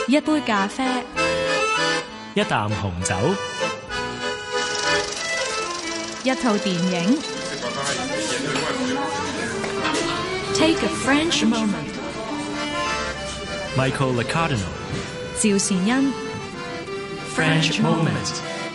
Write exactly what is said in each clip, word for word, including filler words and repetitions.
一杯咖啡， 一啖紅酒， 一套電影。Take a French moment. Michael Licardino. 趙善恩 French moment.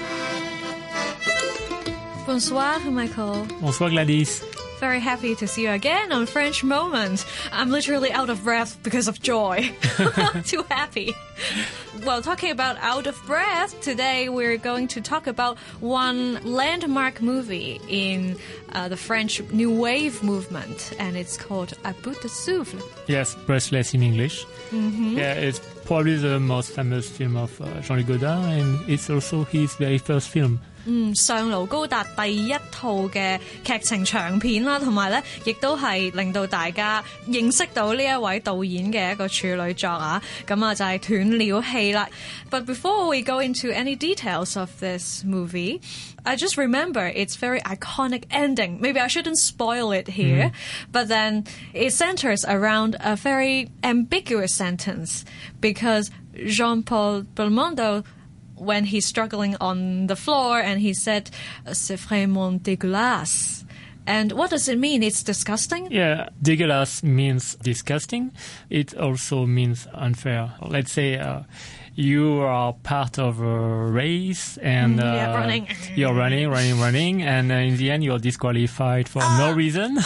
Bonsoir, Michael. Bonsoir, Gladys. Very happy to see you again on French Moment. I'm literally out of breath because of joy. Too happy. Well, talking about out of breath, today we're going to talk about one landmark movie in uh, the French New Wave movement, and it's called À bout de souffle. Yes, breathless in English. Mm-hmm. Yeah, it's probably the most famous film of uh, Jean-Luc Godard, and it's also his very first film. 嗯，上盧高達第一套嘅劇情長片啦，同埋咧，亦都係令到大家認識到呢一位導演嘅一個處女作啊，咁啊就係斷了氣啦。But before we go into any details of this movie, I just remember its very iconic ending. Maybe I shouldn't spoil it here, mm. but then it centers around a very ambiguous sentence because Jean-Paul Belmondo, when he's struggling on the floor and he said, "C'est vraiment dégueulasse." And what does it mean? It's disgusting? Yeah, dégueulasse means disgusting. It also means unfair. Let's say uh, you are part of a race and uh, yeah, running. you're running, running, running, and uh, in the end you're disqualified for uh. no reason.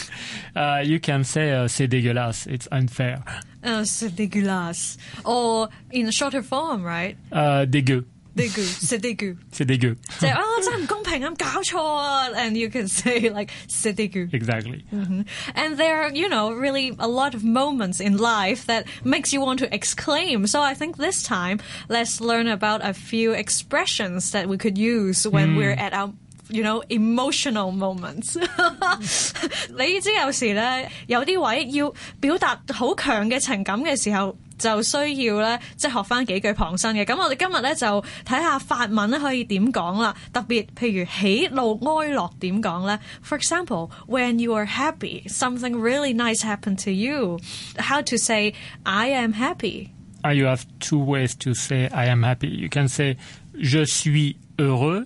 Uh, you can say uh, c'est dégueulasse. It's unfair. Uh, c'est dégueulasse. Or in a shorter form, right? Uh, dégueu. Dégueu. C'est dégueu. C'est dégueu. So, oh, 真係唔公平，咁搞錯啊 And you can say like c'est dégueu. Exactly. Mm-hmm. And there are, you know, really a lot of moments in life that makes you want to exclaim. So I think this time, let's learn about a few expressions that we could use when mm. we're at our you know, emotional moments. 你知有時咧，有啲位要表達好強嘅情感嘅時候，就需要咧，即係學翻幾句旁身嘅。咁我哋今日咧就睇下法文咧可以點講啦。特別譬如喜怒哀樂點講咧。For example, when you are happy, something really nice happened to you. How to say I am happy? Uh, you have two ways to say I am happy. You can say je suis heureux.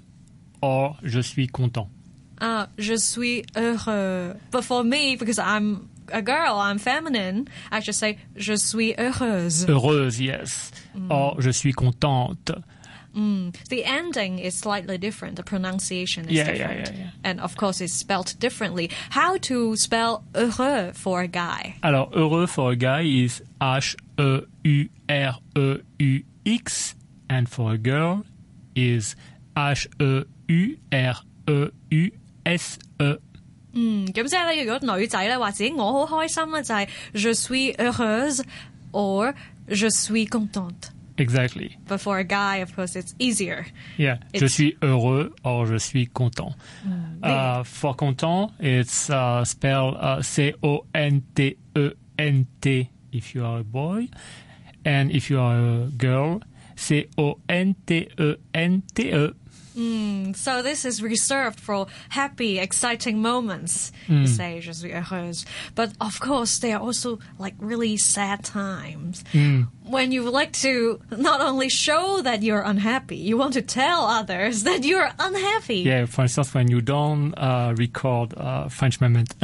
Or je suis content. Ah, je suis heureux. But for me, because I'm a girl, I'm feminine, I just say je suis heureuse. Heureuse, yes. Mm. Or je suis contente. Mm. The ending is slightly different. The pronunciation is yeah, different. Yeah, yeah, yeah. And of course, it's spelled differently. How to spell heureux for a guy? Alors, heureux for a guy is H E U R E U X. And for a girl is H E U R E U S E。 嗯，咁即係咧，如果女仔咧話自己我好開心咧，就係 je suis heureuse or je suis contente. Exactly. But for a guy, of course, it's easier. Yeah, it's, je suis heureux or je suis content. Mm, uh, for content, it's uh, spelled uh, C O N T E N T if you are a boy, and if you are a girl, C O N T E N T E. Mm, so this is reserved for happy, exciting moments. Mm. You say, je suis heureuse. But of course, there are also like really sad times. Mm. When you like to not only show that you're unhappy, you want to tell others that you're unhappy. Yeah, for instance, when you don't uh, record uh, French moment.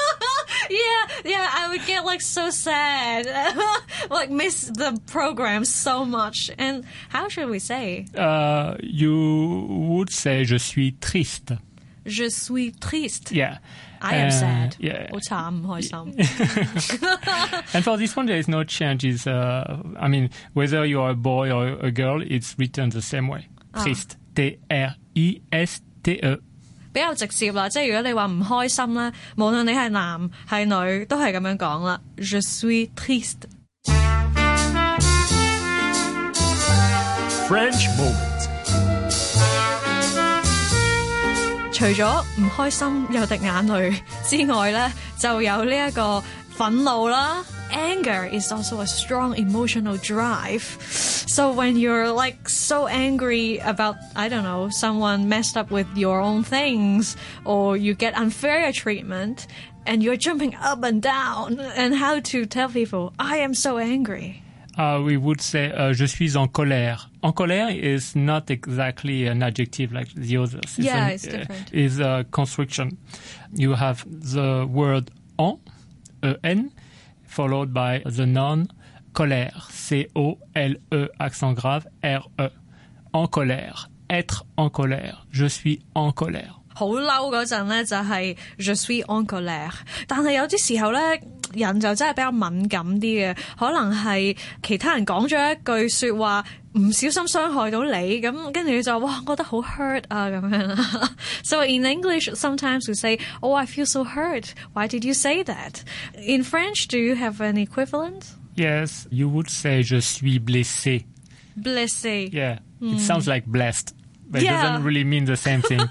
Yeah, yeah, I would get like so sad, like miss the program so much. And how should we say? Uh, you would say je suis triste. Je suis triste. Yeah. I am uh, sad. Yeah. 好慘，唔開心。 And for this one, there is no change. It's, uh, I mean, whether you are a boy or a girl, it's written the same way. Triste. T R I S T E. 比較直接啦，即係如果你話唔開心咧，無論你係男係女，都係咁樣講啦。Je suis triste. French moment. 除咗唔開心有滴眼淚之外咧，就有呢一個憤怒啦。Anger is also a strong emotional drive. So when you're like so angry about, I don't know, someone messed up with your own things, or you get unfair treatment, and you're jumping up and down, and how to tell people, I am so angry. uh, we would say uh, je suis en colère. En colère is not exactly an adjective like the others. It's yeah, an, it's different. Uh, is a construction. You have the word en, en, followed by the noun colère, C O L E, accent grave, R E. En colère, être en colère, je suis en colère. 好嬲嗰陣咧就係 je suis en colère， 但係有啲時候咧人就真係比較敏感啲嘅，可能係其他人講咗一句說話唔小心傷害到你，咁跟住你就哇覺得好 hurt 啊咁樣啦。So in English sometimes we say, oh I feel so hurt, why did you say that? In French, do you have an equivalent? Yes, you would say je suis blessé. Blessé. Yeah, mm. It sounds like blessed. But yeah. it doesn't really mean the same thing.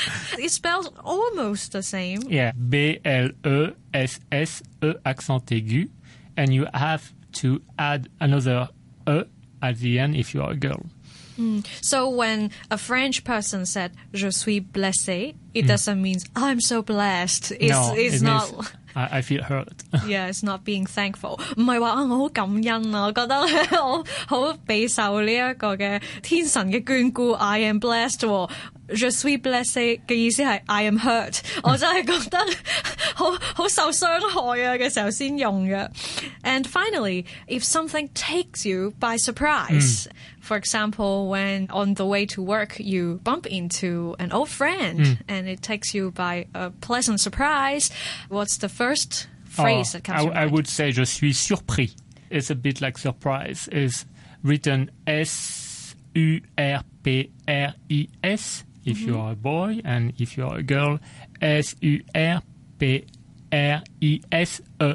It spells almost the same. Yeah, B L E S S E accent aigu. And you have to add another E at the end if you are a girl. Mm. So when a French person said je suis blessé, it mm. doesn't mean I'm so blessed. It's, no, it's it not... means I, I feel hurt. Yeah, it's not being thankful. 唔係話啊，我好感恩啊，我覺得我好備受呢一個嘅天神嘅眷顧。I am blessed。Je suis blessé 嘅意思係 I am hurt。我真係覺得好好受傷害啊嘅時候先用嘅。And finally, if something takes you by surprise, mm. for example, when on the way to work you bump into an old friend mm. and it takes you by a pleasant surprise, what's the first phrase oh, that comes I, to mind? I would say je suis surpris. It's a bit like surprise. It's written S U R P R I S if mm-hmm. you are a boy, and if you are a girl, S U R P R I S E.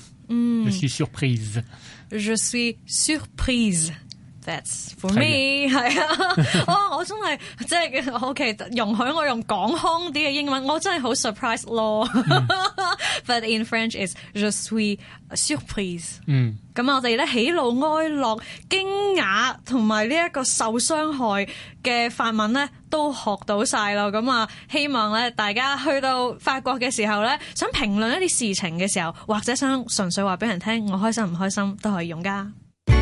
Mm. Je suis surprise. Je suis surprise. That's for me. 係啊，哦，我真係即係 OK， 容許我用港腔啲嘅英文，我真係好 surprise 咯。Mm. But in French is je suis surprise。嗯，咁我哋咧喜怒哀樂、驚訝同埋呢一個受傷害嘅法文咧都學到晒咯。咁啊，希望咧大家去到法國嘅時候咧，想評論一啲事情嘅時候，或者想純粹話俾人聽我開心唔開心，都可以用㗎。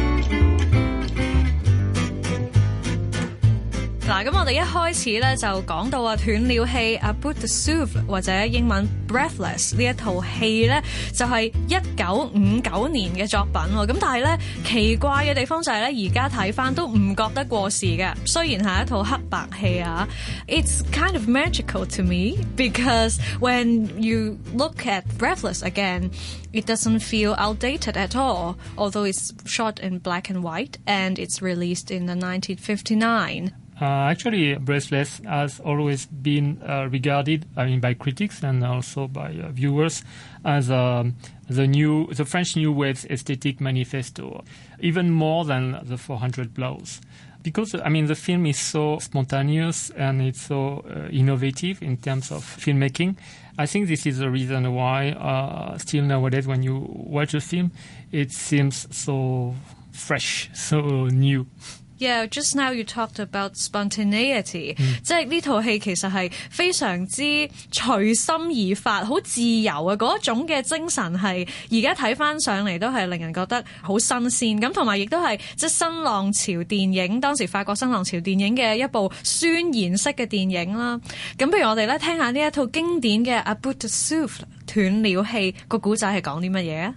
嗱，咁我哋一開始咧就講到啊斷了氣 à bout de souffle 或者英文 breathless 呢一套戲咧就係一九五九年嘅作品喎，咁但係咧奇怪嘅地方就係咧而家睇翻都唔覺得過時嘅，雖然係一套黑白戲啊 ，It's kind of magical to me because when you look at Breathless again, it doesn't feel outdated at all, although it's shot in black and white and it's released in the nineteen fifty-nine. Uh, actually, Breathless has always been uh, regarded, I mean, by critics and also by uh, viewers as um, the new, the French New Wave's aesthetic manifesto, even more than the four hundred Blows. Because, I mean, the film is so spontaneous and it's so uh, innovative in terms of filmmaking. I think this is the reason why uh, still nowadays when you watch a film, it seems so fresh, so new. Yeah, just now you talked about spontaneity，、嗯、即係呢套戲其實係非常之隨心而發，好自由嘅嗰一種嘅精神係而家睇翻上嚟都係令人覺得好新鮮，咁同埋亦都係即係新浪潮電影，當時法國新浪潮電影嘅一部宣言式嘅電影啦。咁不如我哋咧聽下呢一套經典嘅 À bout de souffle 斷了氣個古仔係講啲乜嘢啊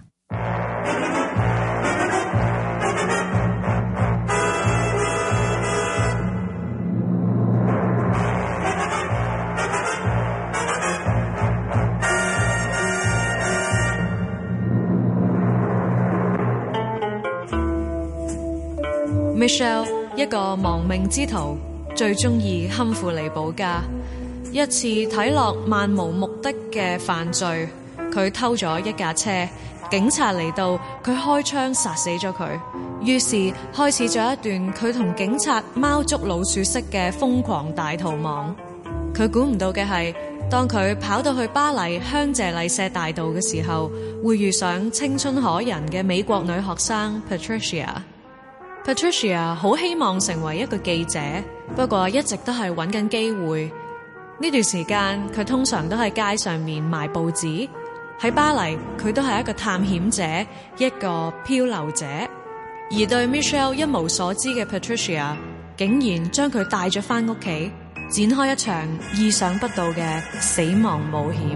？Michelle 一個亡命之徒，最中意堪富利保家。一次睇落漫無目的嘅犯罪，佢偷咗一架車，警察嚟到，佢開槍殺死咗佢。於是開始咗一段佢同警察貓捉老鼠式嘅瘋狂大逃亡。佢估唔到嘅係，當佢跑到去巴黎香榭麗舍大道嘅時候，會遇上青春可人嘅美國女學生 Patricia。Patricia 好希望成為一個記者，不過一直都係揾緊機會。呢段時間佢通常都喺街上面賣報紙。喺巴黎佢都係一個探險者，一個漂流者。 而對 Michelle 一無所知嘅 Patricia， 竟然將佢帶咗返屋企，展開一場意想不到嘅死亡冒險。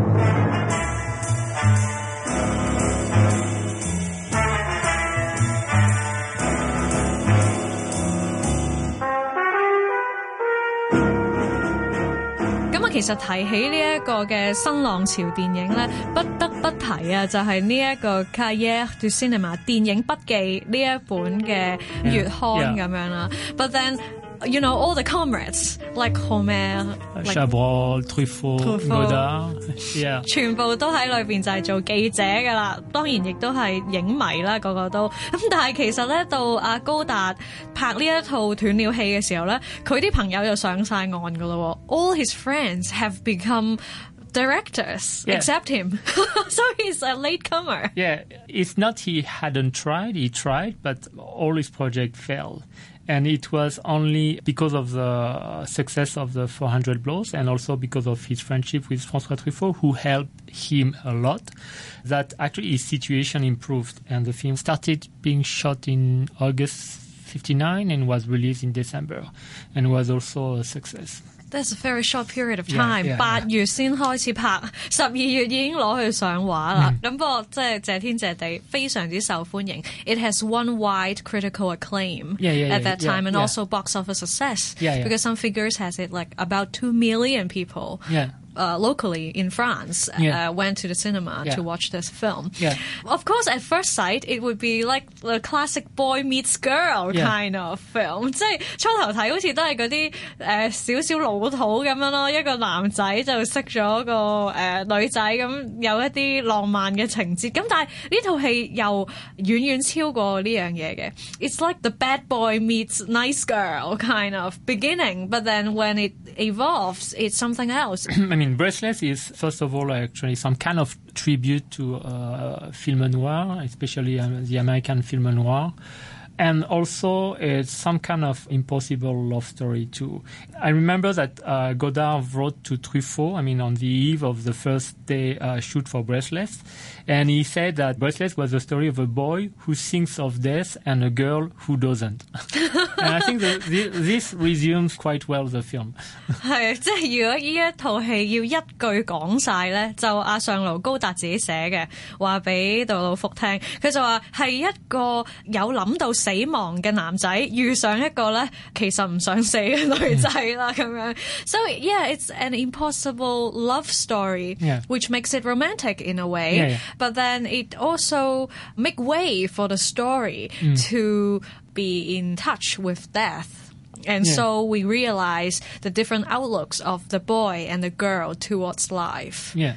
其實提起呢一個嘅新浪潮電影咧，不得不提啊，就係呢一個 Cahiers du Cinéma 電影筆記呢一本嘅月刊咁樣啦。But then you know all the comrades like Homer, like Chabrol, Truffaut, Godard, yeah. 全部都喺裏邊就係做記者噶啦，當然亦都係影迷啦，個個都咁。但係其實咧，到阿高達拍呢一套斷了氣嘅時候咧，佢啲朋友就上晒岸噶啦。All his friends have become directors, yeah. except him. So he's a latecomer. Yeah, it's not he hadn't tried, he tried, but all his projects failed. And it was only because of the success of the four hundred Blows and also because of his friendship with François Truffaut, who helped him a lot, that actually his situation improved. And the film started being shot in August fifty-nine and was released in December and was also a success. That's a very short period of time. Yeah, yeah, 八月先開始拍，十二月已經攞去上畫啦。咁、嗯、不過即係謝天謝地，非常之受歡迎。It has won wide critical acclaim yeah, yeah, at that time yeah, and yeah. also box office success. Yeah, yeah. Because some figures has it like about two million people. Yeah. Uh, locally in France, yeah. uh, went to the cinema yeah. to watch this film. Yeah. Of course, at first sight, it would be like the classic boy meets girl yeah. kind of film. 即係初頭睇好似都係嗰啲誒少少老土咁樣咯，一個男仔就識咗個誒、呃、女仔咁，有一啲浪漫嘅情節。咁但係呢套戲又遠遠超過呢樣嘢嘅。It's like the bad boy meets nice girl kind of beginning, but then when it evolves, it's something else. I mean, Breathless is, first of all, actually some kind of tribute to uh, film noir, especially um, the American film noir. And also it's some kind of impossible love story too. I remember that uh, Godard wrote to Truffaut, I mean, on the eve of the first day uh, shoot for Breathless. And he said that Breathless was the story of a boy who thinks of death and a girl who doesn't. And I think that this resumes quite well the film. 係，即係如果呢一套戲要一句講晒咧，就阿上路高達自己寫嘅，話俾杜魯福聽，佢就話係一個有諗到死亡嘅男仔遇上一個咧其實唔想死嘅女仔啦咁樣。So yeah, it's an impossible love story, yeah. which makes it romantic in a way. Yeah, yeah. But then it also make way for the story mm. to be in touch with death. And yeah. so we realize the different outlooks of the boy and the girl towards life. Yeah.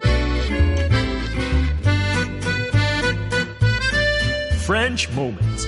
French Moments.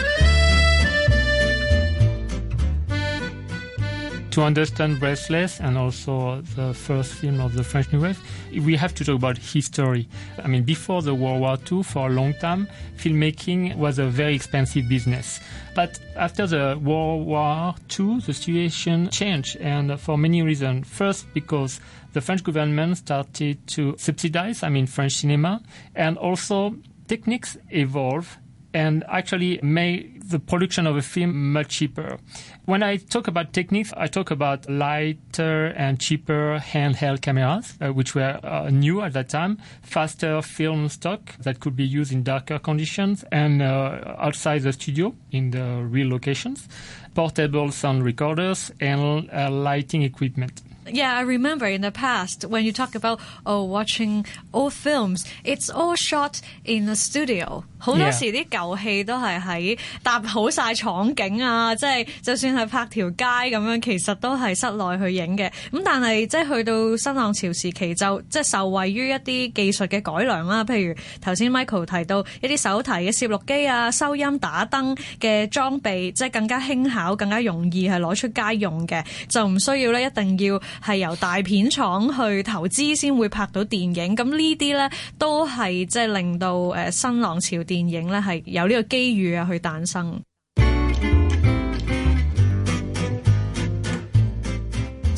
To understand Breathless and also the first film of the French New Wave, we have to talk about history. I mean, before the World War Two, for a long time, filmmaking was a very expensive business. But after the World War Two, the situation changed, and for many reasons. First, because the French government started to subsidize, I mean, French cinema, and also techniques evolved and actually made the production of a film much cheaper. When I talk about techniques, I talk about lighter and cheaper handheld cameras, uh, which were uh, new at that time, faster film stock that could be used in darker conditions and uh, outside the studio in the real locations, portable sound recorders, and uh, lighting equipment. Yeah, I remember in the past when you talk about oh watching old films, it's all shot in a studio. 好多時啲舊戲都係喺搭好晒廠景啊，即係就算係拍條街咁樣，其實都係室內去影嘅。咁但係即係去到新浪潮時期，就即係受惠於一啲技術嘅改良啦，譬如頭先 Michael 提到一啲手提嘅攝錄機啊、收音打燈嘅裝備，即係更加輕巧、更加容易係攞出街用嘅，就唔需要咧一定要係由大片廠去投資先會拍到電影。咁呢啲咧都係即係令到誒新浪潮電影咧係有呢個機遇啊去誕生。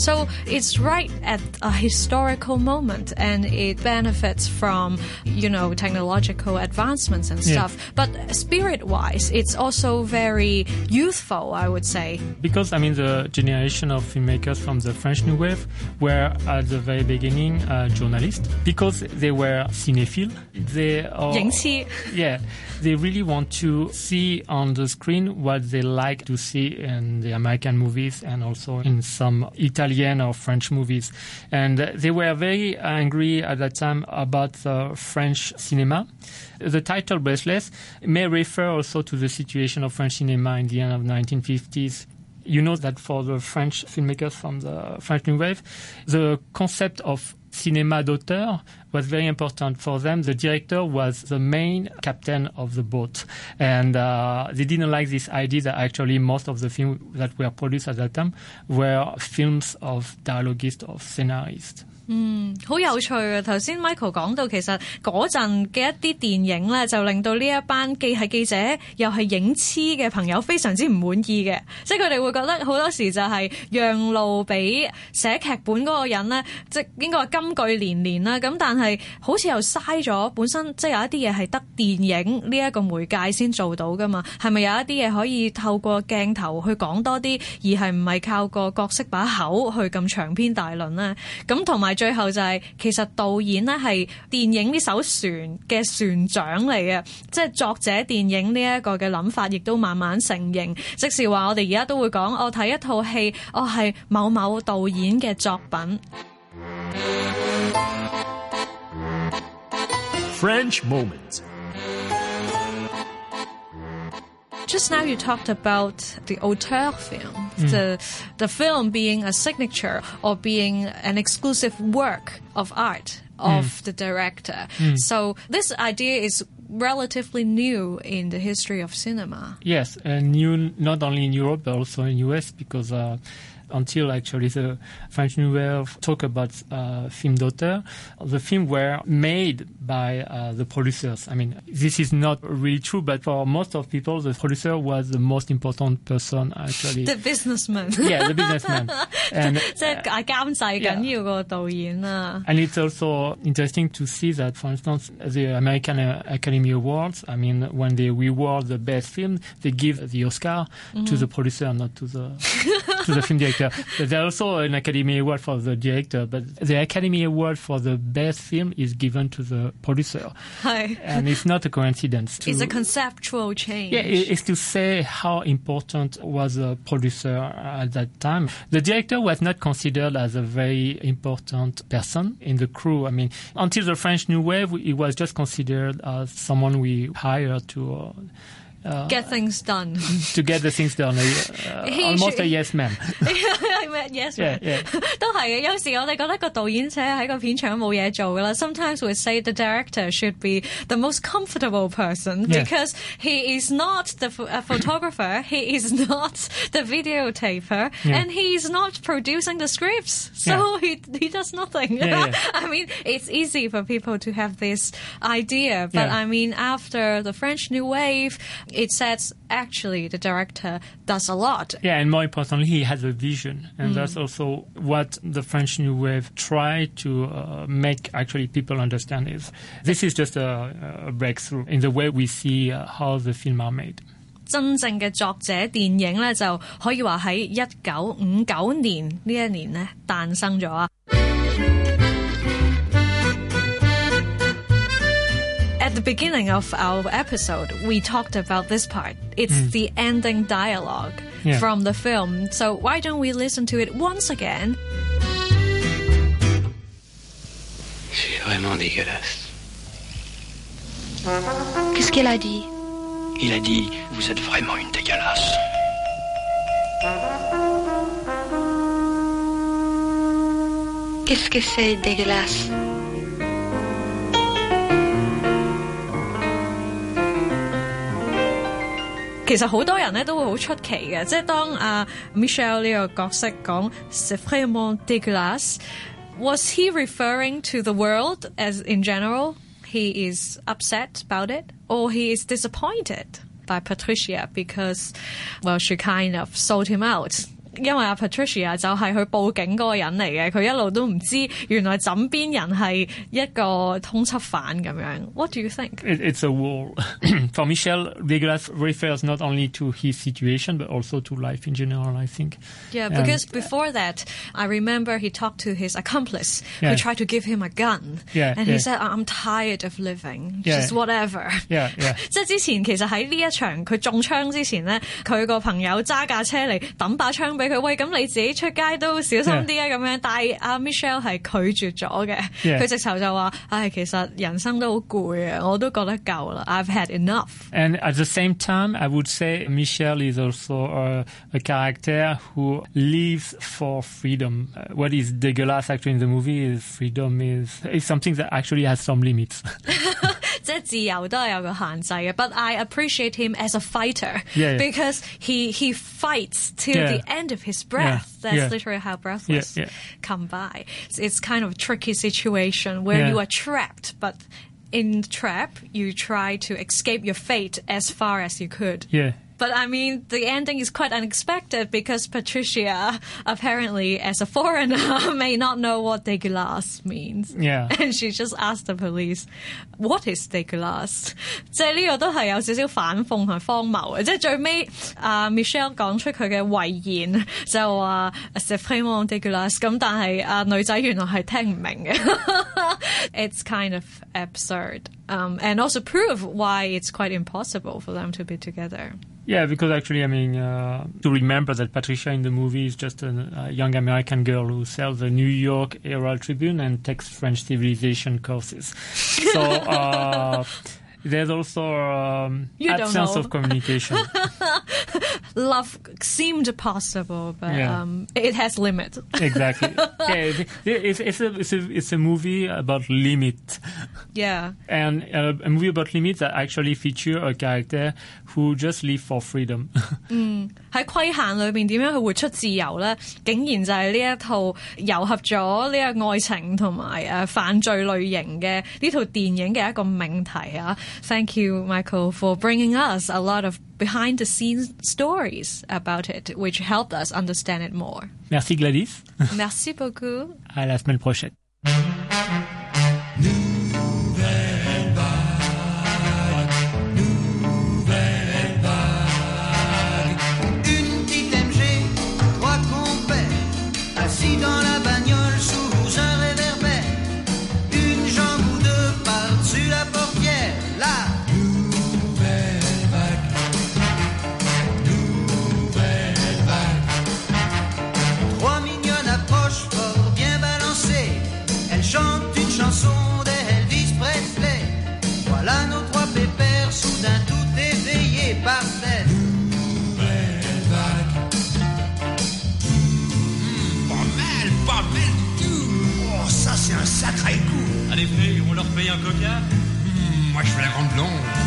So it's right at a historical moment, and it benefits from, you know, technological advancements and stuff. Yeah. But spirit-wise, it's also very youthful, I would say. Because, I mean, the generation of filmmakers from the French New Wave were at the very beginning uh, journalists, because they were cinephile. They are, yeah, they really want to see on the screen what they like to see in the American movies and also in some Italian or French movies. And they were very angry at that time about the French cinema. The title Breathless may refer also to the situation of French cinema in the end of the nineteen fifties. You know that for the French filmmakers from the French New Wave, the concept of cinéma d'auteur was very important for them. The director was the main captain of the boat. And uh, they didn't like this idea that actually most of the films that were produced at that time were films of dialoguists, of scenarists. 嗯，好有趣啊！頭先 Michael 講到，其實嗰陣嘅一啲電影咧，就令到呢一班既係記者又係影痴嘅朋友非常之唔滿意嘅，即係佢哋會覺得好多時就係讓路俾寫劇本嗰個人咧，即係應該話金句連連啦。咁但係好似又嘥咗本身，即係有一啲嘢係得電影呢一個媒介先做到噶嘛？係咪有一啲嘢可以透過鏡頭去講多啲，而係唔係靠個角色把口去咁長篇大論咧？咁同埋。最後就係、是、其實導演咧係電影呢艘船嘅船長嚟嘅，即係作者電影呢一個嘅諗法，亦都慢慢成型。即是話我哋而家都會講，我睇一套戲，我係某某導演嘅作品。 French Moment. Just now you talked about the auteur film, mm. the the film being a signature or being an exclusive work of art of mm. the director. Mm. So this idea is relatively new in the history of cinema. Yes, and new not only in Europe but also in U S because uh, until actually the French New Wave talk about uh, film d'auteur, the film were made by uh, the producers. I mean, this is not really true, but for most of people, the producer was the most important person actually. The businessman. Yeah, the businessman. And, uh, yeah. And it's also interesting to see that, for instance, the American Academy Awards, I mean, when they reward the best film, they give the Oscar mm-hmm. to the producer, not to the to the film director. But there's also an Academy Award for the director, but the Academy Award for the best film is given to the producer. Hi. And it's not a coincidence. To, it's a conceptual change. Yeah, it's to say how important was the producer at that time. The director was not considered as a very important person in the crew. I mean, until the French New Wave, he was just considered as someone we hired to... Uh, Uh, get things done. To get the things done. Uh, almost a yes man. Yes man. Yeah, yeah. 都係嘅，有時我哋覺得個導演者喺個片場冇嘢做㗎啦。Sometimes we say the director should be the most comfortable person yeah. because he is not the a photographer, he is not the videotaper, yeah. and he is not producing the scripts. So yeah. he he does nothing. Yeah, yeah. I mean, it's easy for people to have this idea, but yeah. I mean, after the French New Wave, it says actually the director does a lot. Yeah, and more importantly, he has a vision. And mm. that's also what the French New Wave tried to uh, make actually people understand is this is just a, a breakthrough in the way we see uh, how the film are made. 真正嘅作者電影咧，就可以話喺一九五九年呢一年咧誕生咗啊。At the beginning of our episode, we talked about this part. It's mm. the ending dialogue yeah. from the film. So why don't we listen to it once again? Je suis vraiment dégueulasse. Qu'est-ce qu'elle a dit? Il a dit, vous êtes vraiment une dégueulasse. Qu'est-ce que c'est dégueulasse? « 其實好多人咧都會好出奇嘅，即係當阿 Michelle 呢個角色講 c'est vraiment dégueulasse, was he referring to the world as in general? He is upset about it, or he is disappointed by Patricia because, well, she kind of sold him out 因為阿 Patricia 就係佢報警嗰個人嚟嘅，佢一路都唔知原來枕邊人係一個通緝犯咁樣。What do you think? It, it's a wall. For Michel, Degueulasse refers not only to his situation, but also to life in general, I think. Yeah, because and, before that, I remember he talked to his accomplice yeah. who tried to give him a gun. Yeah, and yeah. he said, I'm tired of living. Yeah. Just whatever. Yeah, yeah. 即係之前其實喺呢一場佢中槍之前咧，佢個朋友揸架車嚟抌把槍俾佢，喂，咁你自己出街都小心啲啊咁樣。但係阿 Michel 係拒絕咗嘅，佢直頭就話：唉，其實人生都好攰啊，我都覺得夠啦。I've had enough. And at the same time, I would say Michel is also a, a character who lives for freedom. Uh, what is Degueulasse actually in the movie is freedom is, is something that actually has some limits. 即係自由都係有個限制嘅 ，but I appreciate him as a fighter yeah, yeah. because he he fights till yeah. the end of his breath. Yeah, That's yeah. literally how Breathless yeah, yeah. come by. It's kind of a tricky situation where yeah. you are trapped, but in trap you try to escape your fate as far as you could. Yeah. But I mean, the ending is quite unexpected because Patricia, apparently, as a foreigner, may not know what Degueulasse means. Yeah. And she just asked the police, what is Degueulasse? 即係呢個都係有少少反諷同荒謬嘅。即係最尾，啊 Michel 講出佢嘅遺言，就話 c'est vraiment dégueulasse。咁但係啊女仔原來係聽唔明嘅。It's kind of absurd, um, and also prove why it's quite impossible for them to be together. Yeah, because actually, I mean, uh, to remember that Patricia in the movie is just a, a young American girl who sells the New York Herald Tribune and takes French civilization courses. So uh, there's also um, absence of communication. Love seemed possible, but yeah. um, it has limits. Exactly. Yeah, it's, it's, a, it's, a, it's a movie about limit. Yeah. And uh, a movie about limits that actually feature a character who just live for freedom. 嗯，喺規限裏邊點樣去活出自由咧？竟然就係呢一套糅合咗呢個愛情同埋誒犯罪類型嘅呢套電影嘅一個命題啊 ！Thank you, Michael, for bringing us a lot of behind-the-scenes stories about it, which helped us understand it more. Merci Gladys. Merci beaucoup. À la semaine prochaine. Dans la bagnole sous un réverbère, une jambe ou deux par-dessus la portière, la nouvelle vague, nouvelle vague. Trois mignonnes approchent fort bien balancées, elles chantent une chanson d'Elvis Presley. Voilà nos trois pépères soudain tout éveillés par cette nouvelle vague. Pas mal du tout. Oh, ça c'est un sacré coup. Allez, frère, on leur paye un coca. Mmh, moi je veux la grande blonde.